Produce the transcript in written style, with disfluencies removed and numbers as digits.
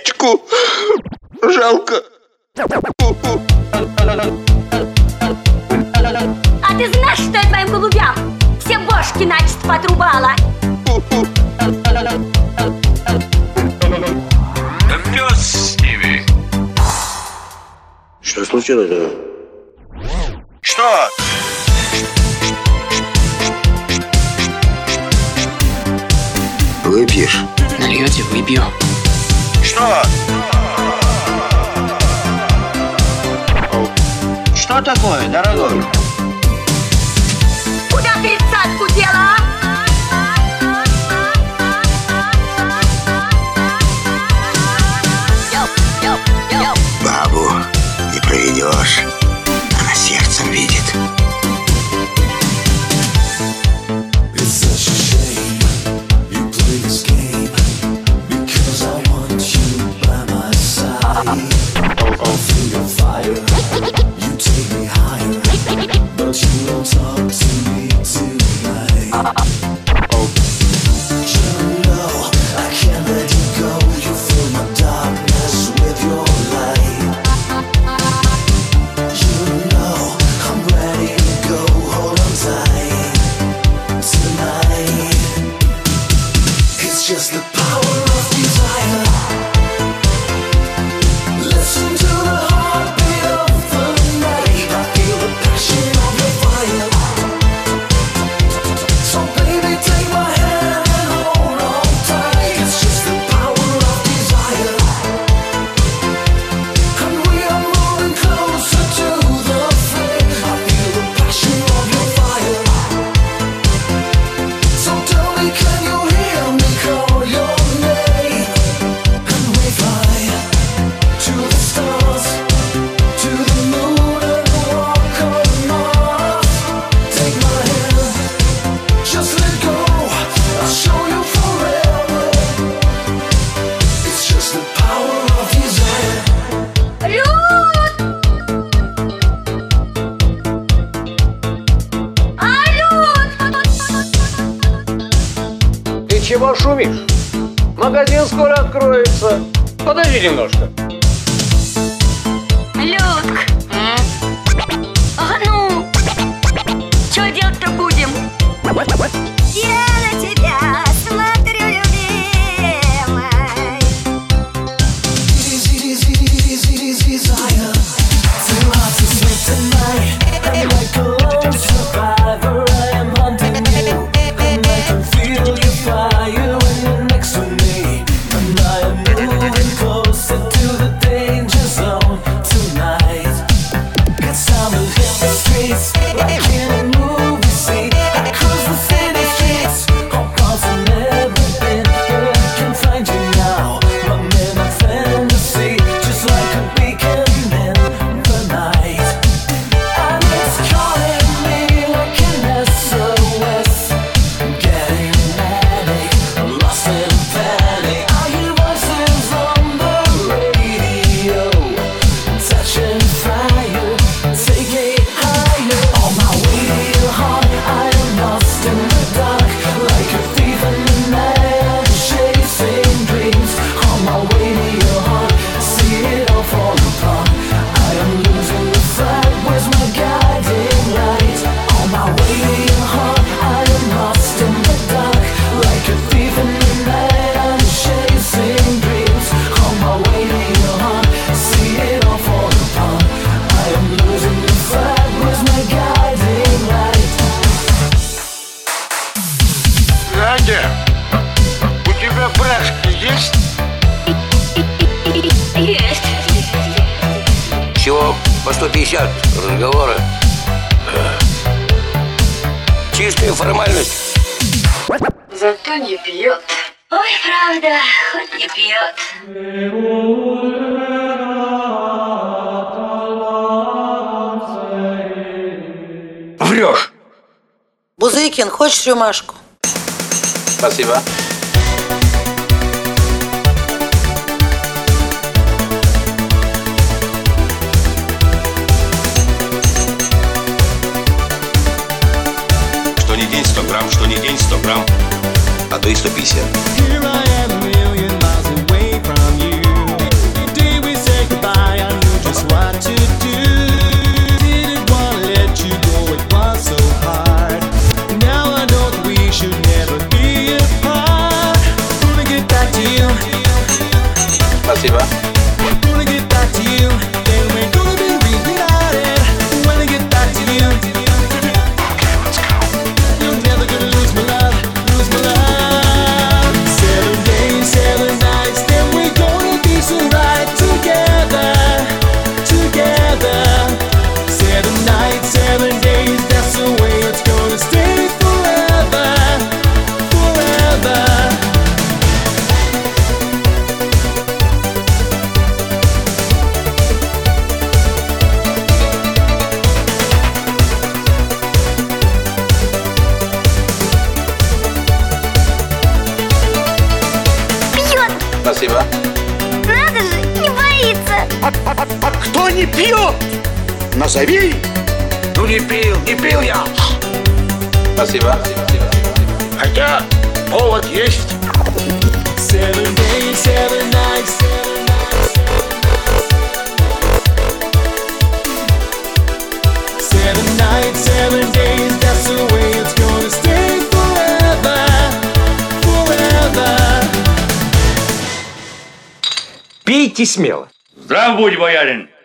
Рюмашечку. Жалко. А ты знаешь, что я твоим голубям все бошки начисто потрубала? Да пес с ними. Что случилось? Что? Выпьешь? Нальете, выпью. Что? Что такое, дорогой? Куда тридцатку дела, Бабу не проведешь. Она сердцем видит. Just the power of desire. Listen to the heartbeat of the night. I feel the passion of your fire. So baby, take my hand and hold on tight. It's just the power of desire. And we are moving closer to the flame. I feel the passion of your fire. So tell me, can you hear me call your name? And we fly to the stars, to the moon and walk on Mars. Take my hand, just let go. I'll show you forever. It's just the power of desire. Люд! Люд! Ты чего шумишь? Магазин скоро откроется. Подожди немножко. Людк! А ну! Чё делать-то будем? Я на тебя смотрю, любимая. Desire. Feel hard to sleep tonight. I'm like a lone survivor. I am hunting you, and I can feel your fire when you're next to me. And I am moving closer to the danger zone tonight. It's time to hit the streets like in a movie scene. I cruise the city streets, all cars I've never been, but I can find you now. I'm in a fantasy, just like a beacon in the night. And it's calling me like an SOS. Getting manic, lost in panic. I hear voices on the radio, touching fire, take me higher. On my way to your heart, I am lost in the dark, like a thief in the night, chasing dreams. On my way to your heart, see it all fall apart. I am losing the fight, where's my guiding light? On my way to your heart, I am lost in the dark, like a thief in the night, I'm chasing dreams. On my way to your heart, see it all fall apart. I am losing the fight, where's my guiding light? Надя, у тебя брашки есть? Есть. Всего по 150 разговора. Чистая формальность. Зато не пьет. Ой, правда, хоть не пьет. Врешь. Бузыкин, хочешь рюмашку? Спасибо. Что не день 100 грамм, что не день 100 грамм, а то и 150. Here I am, a million miles away from you. Спасибо. Gonna get back to you, then we're gonna be reunited. When I get back to you, okay, let's go. You're never gonna lose my love, lose my love. 7 days, 7 nights, then we're gonna be so right together, together. 7 nights, 7 days, that's the way it's gonna stay forever, forever. Пьет! Спасибо. Надо же, не боится! Кто не пьет? Назови. Ну не пил я. Спасибо. Хотя повод есть. 7 days, 7 nights, 7 nights, 7 days, that's the way it's gonna stay forever, forever. Пейте смело. Здрав будь, боярин.